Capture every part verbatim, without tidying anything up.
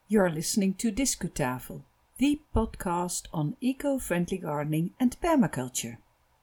You're listening to Discutafel, the podcast on eco-friendly gardening and permaculture.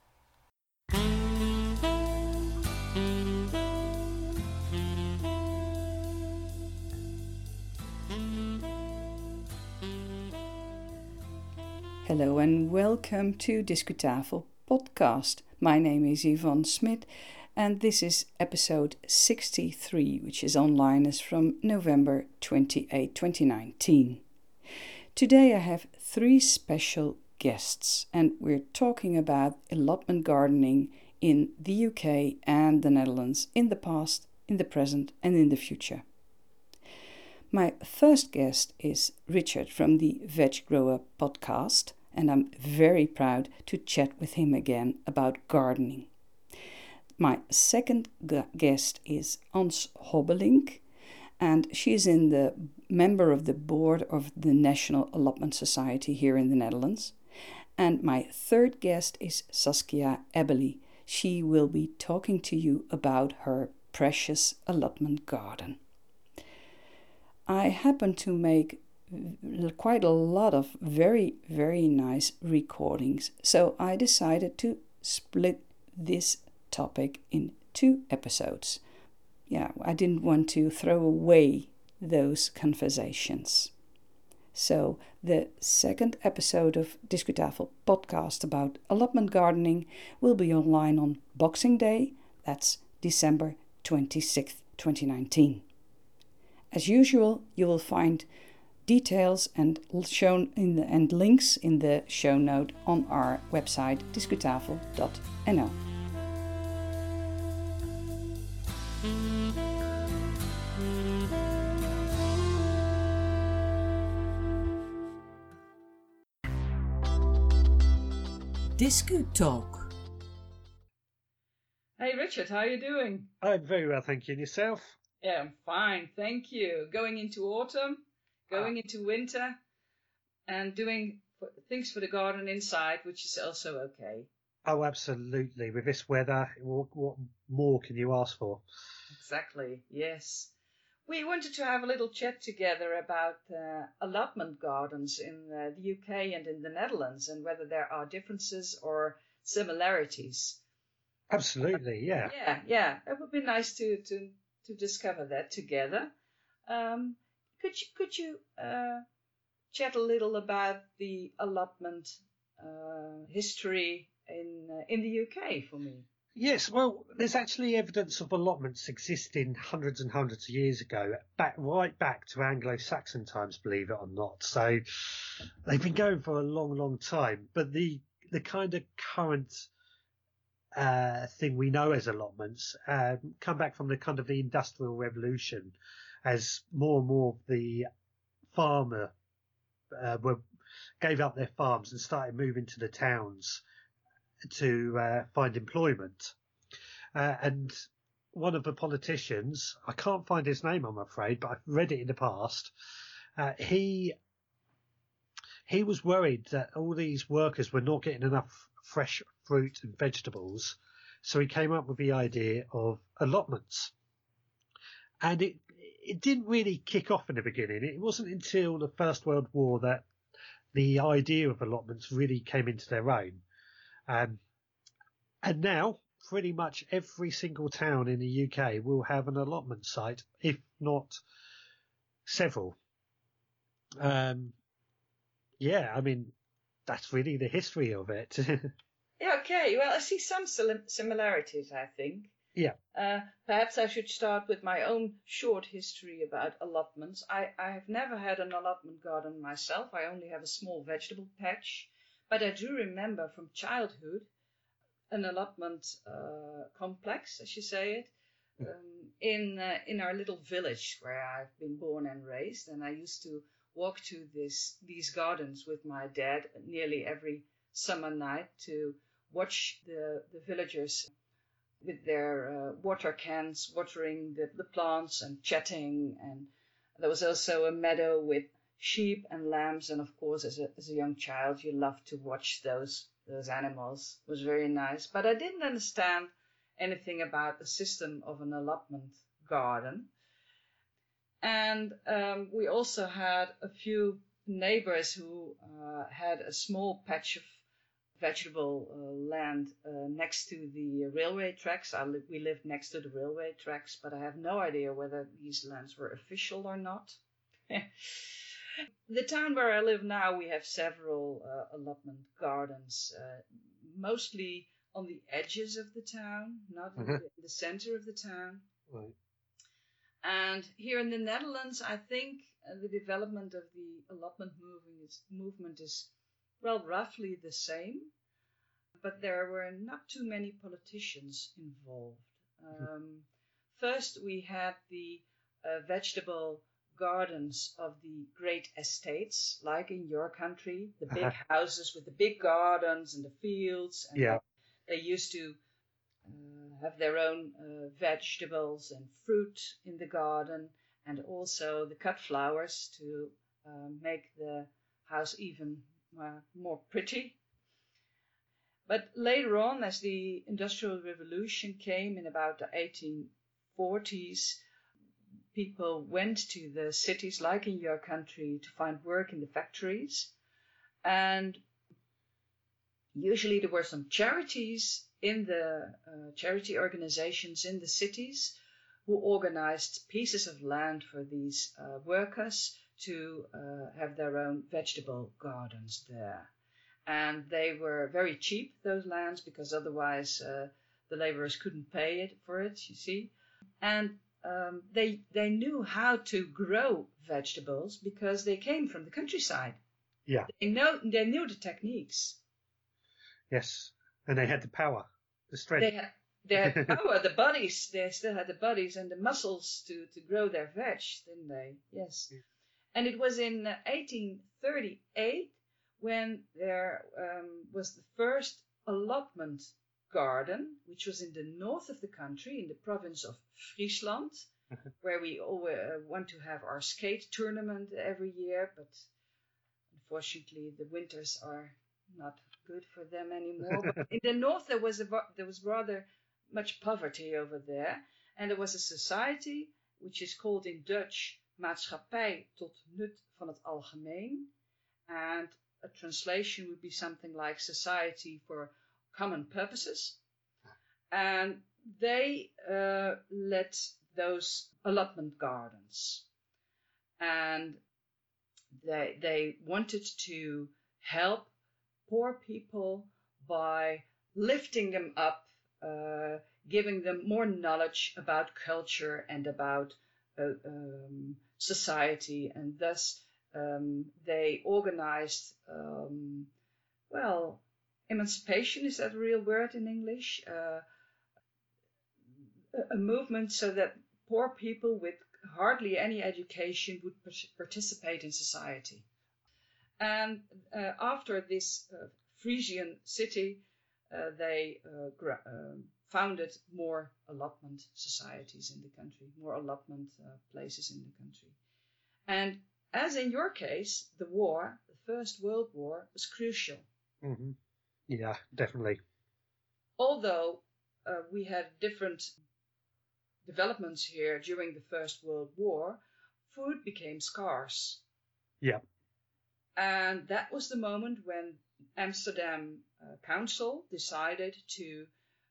Hello and welcome to Discutafel podcast. My name is Yvonne Smit and this is episode sixty-three, which is online as from November twenty-eighth, twenty nineteen. Today I have three special guests and we're talking about allotment gardening in the U K and the Netherlands in the past, in the present and in the future. My first guest is Richard from the Veg Grower podcast, and I'm very proud to chat with him again about gardening. My second g- guest is Ans Hobbelink, and she's in the member of the board of the National Allotment Society here in the Netherlands. And my third guest is Saskia Ebbely. She will be talking to you about her precious allotment garden. I happen to make quite a lot of very, very nice recordings, so I decided to split this topic in two episodes. Yeah, I didn't want to throw away those conversations. So the second episode of Discutafel podcast about allotment gardening will be online on Boxing Day, that's December twenty-sixth, twenty nineteen. As usual, you will find details and shown in the, and links in the show note on our website discutafel dot n l. Discu Talk. Hey Richard, how are you doing? I'm very well, thank you. And yourself? Yeah, I'm fine, thank you. Going into autumn, going Ah. into winter, and doing f- things for the garden inside, which is also okay. Oh, absolutely. With this weather, what, what more can you ask for? Exactly, yes. We wanted to have a little chat together about uh, allotment gardens in uh, the U K and in the Netherlands, and whether there are differences or similarities. Absolutely, yeah. Yeah, yeah, it would be nice to to to discover that together. Um, could you could you uh, chat a little about the allotment uh, history in uh, in the U K for me? Yes, well, there's actually evidence of allotments existing hundreds and hundreds of years ago, back right back to Anglo-Saxon times, believe it or not. So they've been going for a long, long time. But the the kind of current uh, thing we know as allotments uh, come back from the kind of the Industrial Revolution, as more and more of the farmer uh, were gave up their farms and started moving to the towns to uh, find employment. Uh, and one of the politicians, I can't find his name, I'm afraid, but I've read it in the past. Uh, he he was worried that all these workers were not getting enough fresh fruit and vegetables, so he came up with the idea of allotments. And it it didn't really kick off in the beginning. It wasn't until the First World War that the idea of allotments really came into their own. Um, and now, pretty much every single town in the U K will have an allotment site, if not several. Um, yeah, I mean, that's really the history of it. Yeah, okay. Well, I see some sim- similarities, I think. Yeah. Uh, perhaps I should start with my own short history about allotments. I, I have never had an allotment garden myself. I only have a small vegetable patch. But I do remember from childhood an allotment uh, complex, as you say it, um, in uh, in our little village where I've been born and raised. And I used to walk to this these gardens with my dad nearly every summer night to watch the, the villagers with their uh, water cans watering the, the plants and chatting. And there was also a meadow with sheep and lambs. And of course, as a, as a young child, you loved to watch those those animals. It was very nice. But I didn't understand anything about the system of an allotment garden. And um, we also had a few neighbors who uh, had a small patch of vegetable uh, land uh, next to the railway tracks. I li- we lived next to the railway tracks, but I have no idea whether these lands were official or not. The town where I live now, we have several uh, allotment gardens, uh, mostly on the edges of the town, not in, Uh-huh. the, in the center of the town. Right. And here in the Netherlands, I think uh, the development of the allotment moving is, movement is, well, roughly the same. But there were not too many politicians involved. Um, first, we had the uh, vegetable gardens of the great estates, like in your country, the big Uh-huh. houses with the big gardens and the fields. And Yeah. they, they used to uh, have their own uh, vegetables and fruit in the garden, and also the cut flowers to uh, make the house even uh, more pretty. But later on, as the Industrial Revolution came in about the eighteen forties, people went to the cities, like in your country, to find work in the factories. And usually there were some charities in the uh, charity organizations in the cities who organized pieces of land for these uh, workers to uh, have their own vegetable gardens there. And they were very cheap, those lands, because otherwise uh, the laborers couldn't pay it for it, you see. And um, they they knew how to grow vegetables because they came from the countryside. Yeah. They know they knew the techniques. Yes. And they had the power, the strength. They had they had the power, the bodies. They still had the bodies and the muscles to, to grow their veg, didn't they? Yes. Yeah. And it was in uh, eighteen thirty-eight when there um, was the first allotment garden, which was in the north of the country, in the province of Friesland, where we always uh, want to have our skate tournament every year, but unfortunately the winters are not good for them anymore. But in the north there was a, there was rather much poverty over there, and there was a society which is called in Dutch Maatschappij tot nut van het algemeen, and a translation would be something like Society for Common Purposes. And they uh, led those allotment gardens. And they, they wanted to help poor people by lifting them up, uh, giving them more knowledge about culture and about uh, um, society, and thus Um, they organized, um, well, emancipation, is that a real word in English? Uh, a, a movement so that poor people with hardly any education would participate in society. And uh, after this uh, Frisian city, uh, they uh, gra- uh, founded more allotment societies in the country, more allotment uh, places in the country. And as in your case, the war, the First World War, was crucial. Mm-hmm. Yeah, definitely. Although uh, we had different developments here during the First World War, food became scarce. Yeah. And that was the moment when Amsterdam uh, Council decided to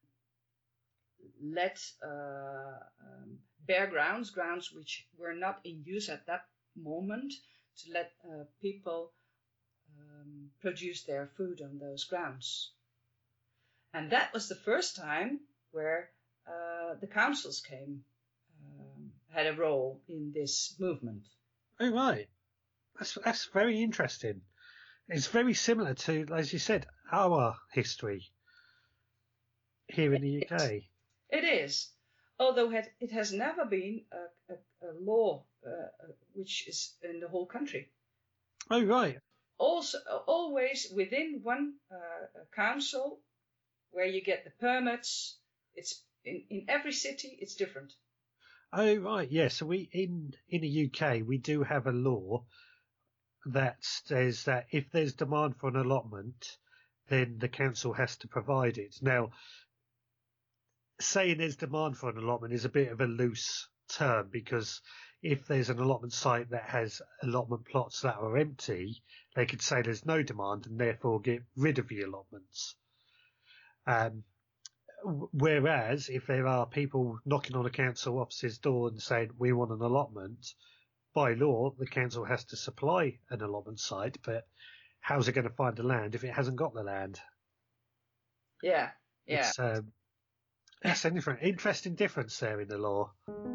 let uh, um, bare grounds, grounds which were not in use at that moment, to let uh, people um, produce their food on those grounds. And that was the first time where uh, the councils came, um, had a role in this movement. Oh, right. That's, that's very interesting. It's very similar to, as you said, our history here in the U K. It is. Although it, it has never been a, a, a law uh, which is in the whole country. Oh, right. Also, always within one uh, council where you get the permits. It's in, in every city, it's different. Oh, right. Yeah. So we in in the U K, we do have a law that says that if there's demand for an allotment, then the council has to provide it. Now, saying there's demand for an allotment is a bit of a loose term because if there's an allotment site that has allotment plots that are empty, they could say there's no demand and therefore get rid of the allotments. Um, whereas if there are people knocking on a council office's door and saying, we want an allotment, by law, the council has to supply an allotment site, but how's it going to find the land if it hasn't got the land? Yeah, yeah. It's, um, that's an different, interesting difference there in the law.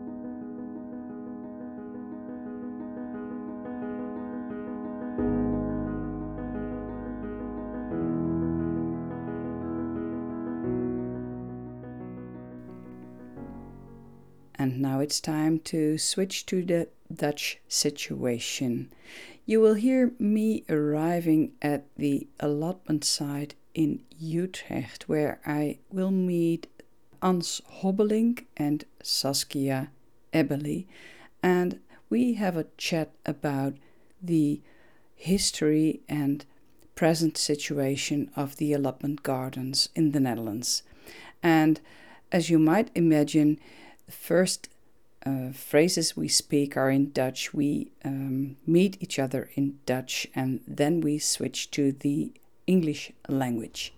And now it's time to switch to the Dutch situation. You will hear me arriving at the allotment site in Utrecht, where I will meet Ans Hobbelink and Saskia Ebbely, and we have a chat about the history and present situation of the allotment gardens in the Netherlands. And as you might imagine, the first uh, phrases we speak are in Dutch. We um, meet each other in Dutch and then we switch to the English language.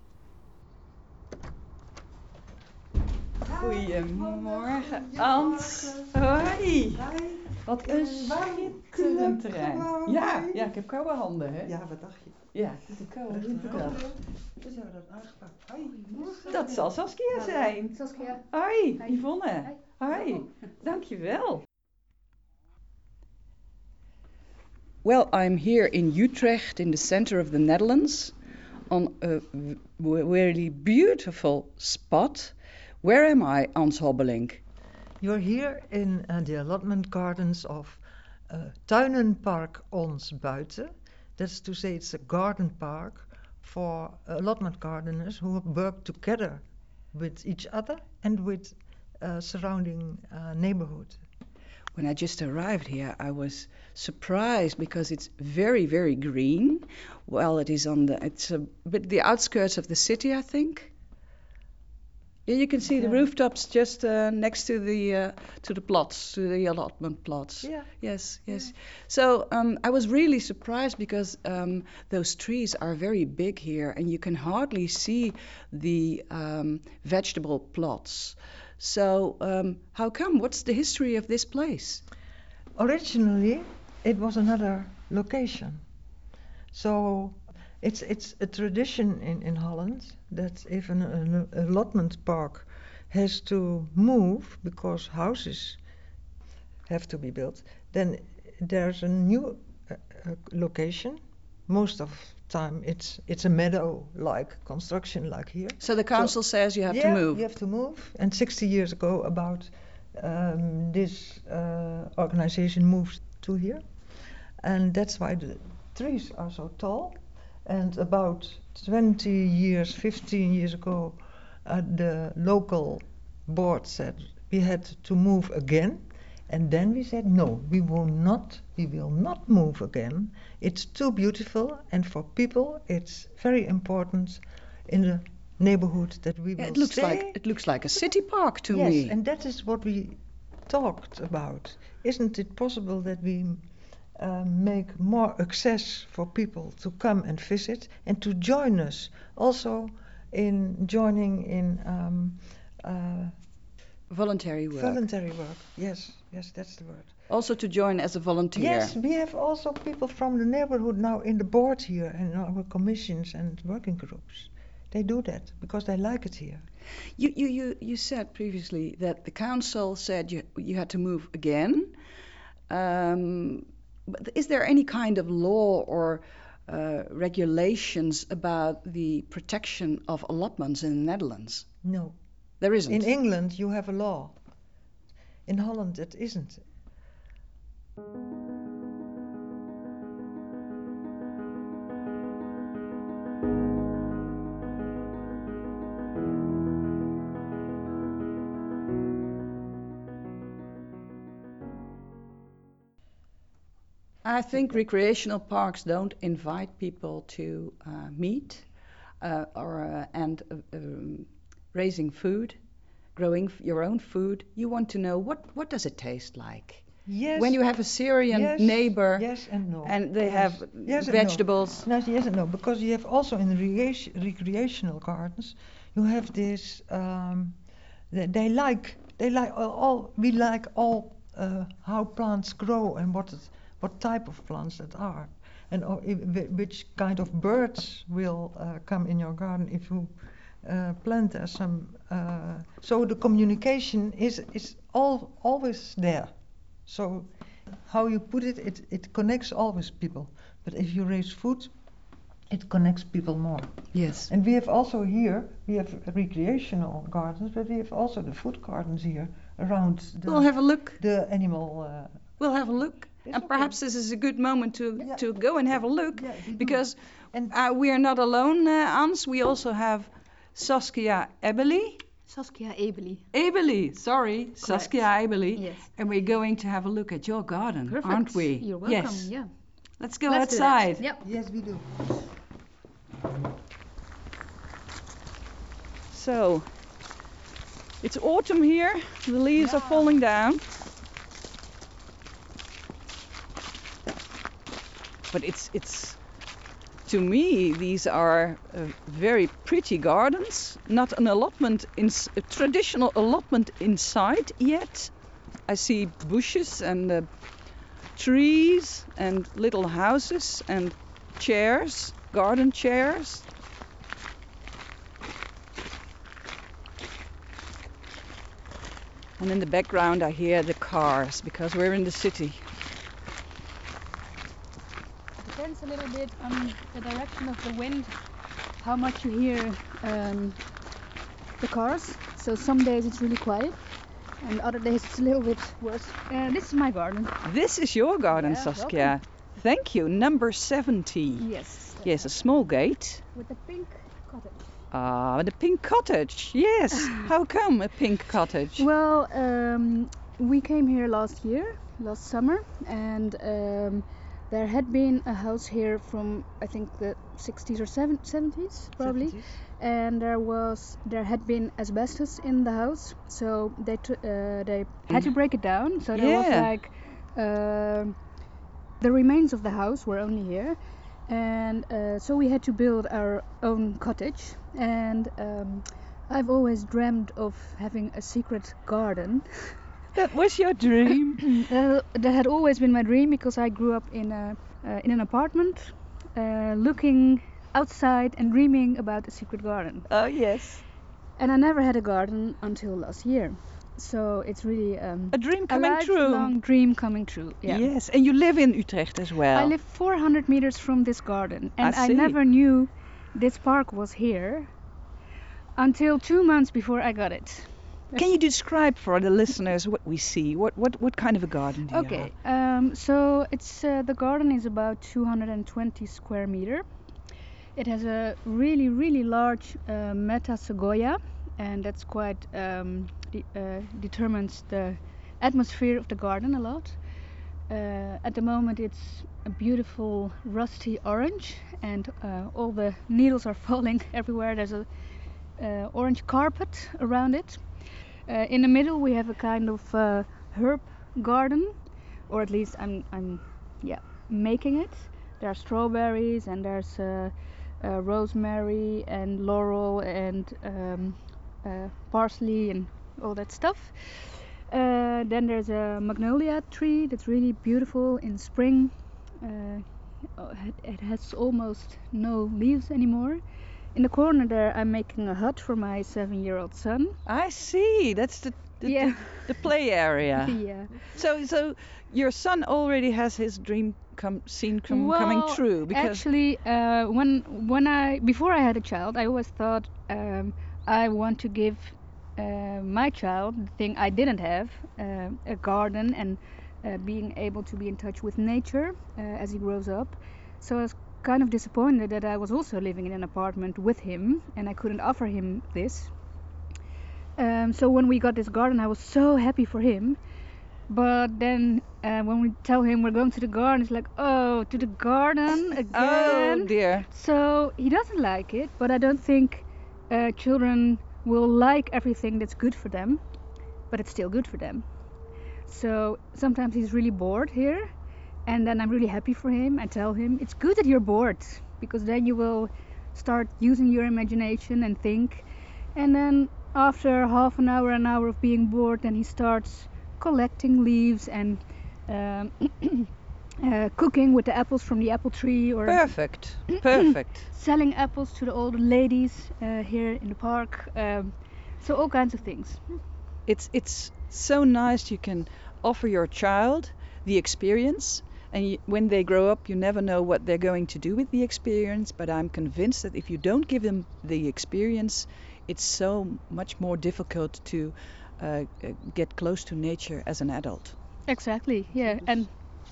Goedemorgen, Ans. Hoi. Wat een schitterend terrein. Ja, ja, ik heb koude handen, hè? Ja, wat dacht je? Ja, ik heb koude handen. Dus hebben we dat aangepakt. Hoi, goedemorgen. Dat zal Saskia zijn. Saskia. Hoi, Yvonne. Hoi, dankjewel. Well, I'm here in Utrecht, in the center of the Netherlands, on a really beautiful spot. Where am I, Ans Hobbelink? You're here in uh, the allotment gardens of uh, Tuinenpark Ons Buiten. That's to say, it's a garden park for allotment gardeners who work together with each other and with uh, surrounding uh, neighborhood. When I just arrived here, I was surprised because it's very, very green. Well, it is on the, it's a bit the outskirts of the city, I think. Yeah, you can see yeah. the rooftops just uh, next to the uh, to the plots, to the allotment plots. Yeah. Yes, yes. Yeah. So um, I was really surprised because um, those trees are very big here, and you can hardly see the um, vegetable plots. So um, how come? What's the history of this place? Originally, it was another location. So it's it's a tradition in, in Holland that if an, an allotment park has to move because houses have to be built, then there's a new uh, uh, location. Most of the time it's it's a meadow-like construction like here. So the council so, says you have yeah, to move. you have to move. And sixty years ago about um, this uh, organization moved to here. And that's why the trees are so tall. And about twenty years, fifteen years ago, uh, the local board said we had to move again. And then we said, no, we will not, we will not move again. It's too beautiful, and for people, it's very important in the neighborhood that we yeah, will it looks stay. Like, it looks like a city park to yes, me. Yes, and that is what we talked about. Isn't it possible that we uh, make more access for people to come and visit and to join us also in joining in um, uh, voluntary work. Voluntary work, yes, yes, that's the word. Also to join as a volunteer. Yes, we have also people from the neighborhood now in the board here and in our commissions and working groups. They do that because they like it here. You you you, you said previously that the council said you you had to move again. Um, but is there any kind of law or uh, regulations about the protection of allotments in the Netherlands? No. There isn't. In England, you have a law. In Holland, it isn't. I think recreational parks don't invite people to uh, meet uh, or uh, and uh, um, raising food, growing your own food. You want to know what what does it taste like? Yes. When you have a Syrian yes, neighbor yes and no. and they Yes. have Yes and no. vegetables. No, yes and no, because you have also in the recreation, recreational gardens, you have this. Um, they, they like they like all, all we like all uh, how plants grow and what it, what type of plants that are, and uh, if, which kind of birds will uh, come in your garden if you uh, plant there some. Uh, so the communication is is all always there. So how you put it, it, it connects always people. But if you raise food, it connects people more. Yes. And we have also here, we have recreational gardens, but we have also the food gardens here around the, We'll have a look. the animal. Uh, We'll have a look. It's And okay. perhaps this is a good moment to, Yeah. to go and have a look. Yeah, we do. Because and uh, we are not alone, uh, Ans. We also have Saskia Ebeli. Saskia Ebeli. Ebeli, sorry. Saskia Ebeli. Yes. And we're going to have a look at your garden, Perfect. aren't we? You're welcome. Yes. Yeah. Let's go Let's do that. outside. Yep. yes, we do. So, it's autumn here. The leaves are falling down. But it's it's to me these are uh, very pretty gardens. Not an allotment in a traditional allotment inside yet. I see bushes and uh, trees and little houses and chairs, garden chairs. And in the background I hear the cars because we're in the city. Depends a little bit on the direction of the wind, how much you hear um, the cars. So some days it's really quiet, and other days it's a little bit worse. Uh, this is my garden. This is your garden, Yeah, Saskia. Thank you. Number seventy. Yes. Yes, a small gate. With the pink cottage. Ah, the pink cottage. Yes. How come a pink cottage? Well, um, we came here last year, last summer, and um, there had been a house here from I think the sixties or seventies probably. seventies. And there was there had been asbestos in the house, so they t- uh, they had to break it down. So there was Yeah. like uh, the remains of the house were only here, and uh, so we had to build our own cottage. And um, I've always dreamed of having a secret garden. That was your dream. Uh, that had always been my dream because I grew up in a uh, in an apartment, uh, looking outside and dreaming about a secret garden. Oh yes. And I never had a garden until last year. So it's really um, A dream a coming true. lifelong dream coming true. Yeah. Yes, and you live in Utrecht as well. I live four hundred meters from this garden, and I I, see. never knew this park was here until two months before I got it. Can you describe for the listeners what we see? What what what kind of a garden do you Okay, have? um, so it's uh, the garden is about two hundred twenty square meter. It has a really really large uh, Meta Sequoia, and that's quite um, de- uh, determines the atmosphere of the garden a lot. Uh, at the moment, it's a beautiful rusty orange, and uh, all the needles are falling everywhere. There's a uh, orange carpet around it. Uh, in the middle, we have a kind of uh, herb garden, or at least I'm, I'm, yeah, making it. There are strawberries, and there's uh, uh, rosemary and laurel and um, uh, parsley and all that stuff. Uh, then there's a magnolia tree that's really beautiful in spring. Uh, it, it has almost no leaves anymore. In the corner there, I'm making a hut for my seven-year-old son. I see. That's the the, Yeah. the, the play area. Yeah. So so your son already has his dream come seen come, Well, coming true because Actually, uh, when when I before I had a child, I always thought um, I want to give uh, my child the thing I didn't have, uh, a garden and uh, being able to be in touch with nature uh, as he grows up. So I was kind of disappointed that I was also living in an apartment with him and I couldn't offer him this. Um, so when we got this garden, I was so happy for him. But then uh, when we tell him we're going to the garden, it's like, oh, to the garden again. oh dear. So he doesn't like it, but I don't think uh, children will like everything that's good for them, but it's still good for them. So sometimes he's really bored here, and then I'm really happy for him. I tell him it's good that you're bored, because then you will start using your imagination and think. And then after half an hour, an hour of being bored, then he starts collecting leaves and um, uh, cooking with the apples from the apple tree, or Perfect, perfect. selling apples to the old ladies uh, here in the park. Um, so all kinds of things. It's it's so nice you can offer your child the experience, and you, when they grow up, you never know what they're going to do with the experience. But I'm convinced that if you don't give them the experience, it's so much more difficult to uh, uh, get close to nature as an adult. Exactly. Yeah. And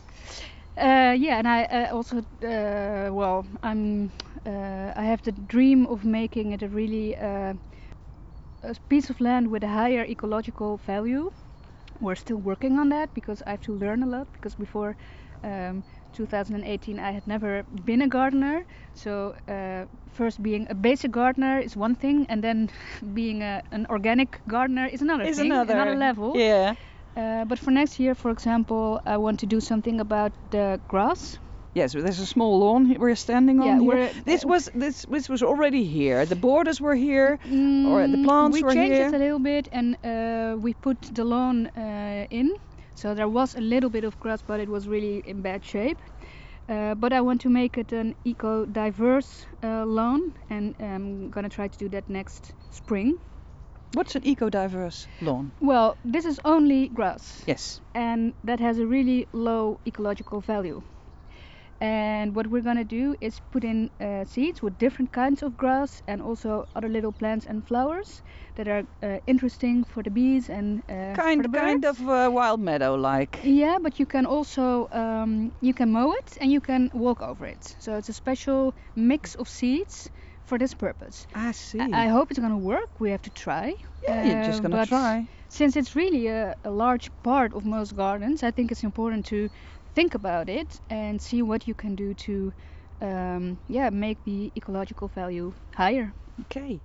uh, yeah, and I uh, also uh, well, I'm uh, I have the dream of making it a really uh, a piece of land with a higher ecological value. We're still working on that because I have to learn a lot, because before um, two thousand eighteen I had never been a gardener. So uh, first being a basic gardener is one thing, and then being a, an organic gardener is another Is thing, another another level. Yeah. Uh, but for next year, for example, I want to do something about the grass. Yes, there's a small lawn he- we're standing on Yeah, here. we're- This was this this was already here. The borders were here, or the Mm, plants we were changed here. it a little bit, and uh, we put the lawn uh, in. So there was a little bit of grass, but it was really in bad shape. Uh, but I want to make it an eco-diverse uh, lawn, and I'm gonna try to do that next spring. What's an eco-diverse lawn? Well, this is only grass, Yes. and that has a really low ecological value. And what we're gonna do is put in uh, seeds with different kinds of grass, and also other little plants and flowers that are uh, interesting for the bees and uh, for Kind the kind birds. of uh, wild meadow like. Yeah, but you can also um, you can mow it and you can walk over it. So it's a special mix of seeds for this purpose. I see. I I hope it's gonna work. We have to try. Yeah, you're just Uh, gonna but try. Since it's really a, a large part of most gardens, I think it's important to think about it and see what you can do to, um, yeah, make the ecological value higher. Okay.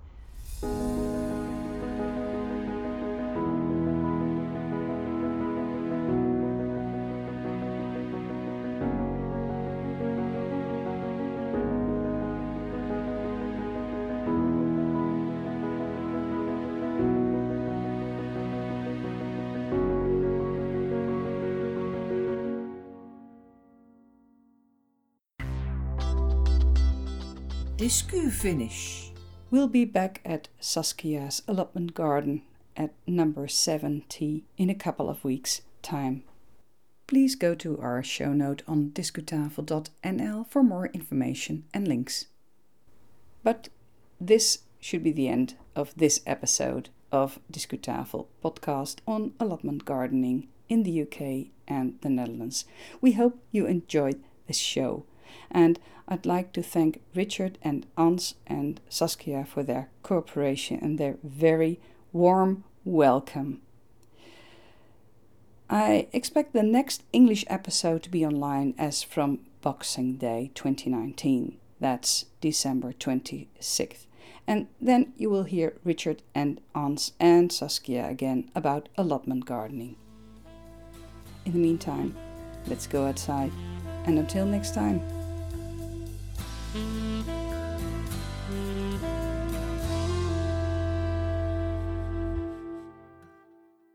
Discu finish. We'll be back at Saskia's allotment garden at number seventy in a couple of weeks' time. Please go to our show note on discutafel dot n l for more information and links. But this should be the end of this episode of Discutafel podcast on allotment gardening in the U K and the Netherlands. We hope you enjoyed this show, and I'd like to thank Richard and Ans and Saskia for their cooperation and their very warm welcome. I expect the next English episode to be online as from Boxing Day twenty nineteen. That's December twenty-sixth. And then you will hear Richard and Ans and Saskia again about allotment gardening. In the meantime, let's go outside, and until next time.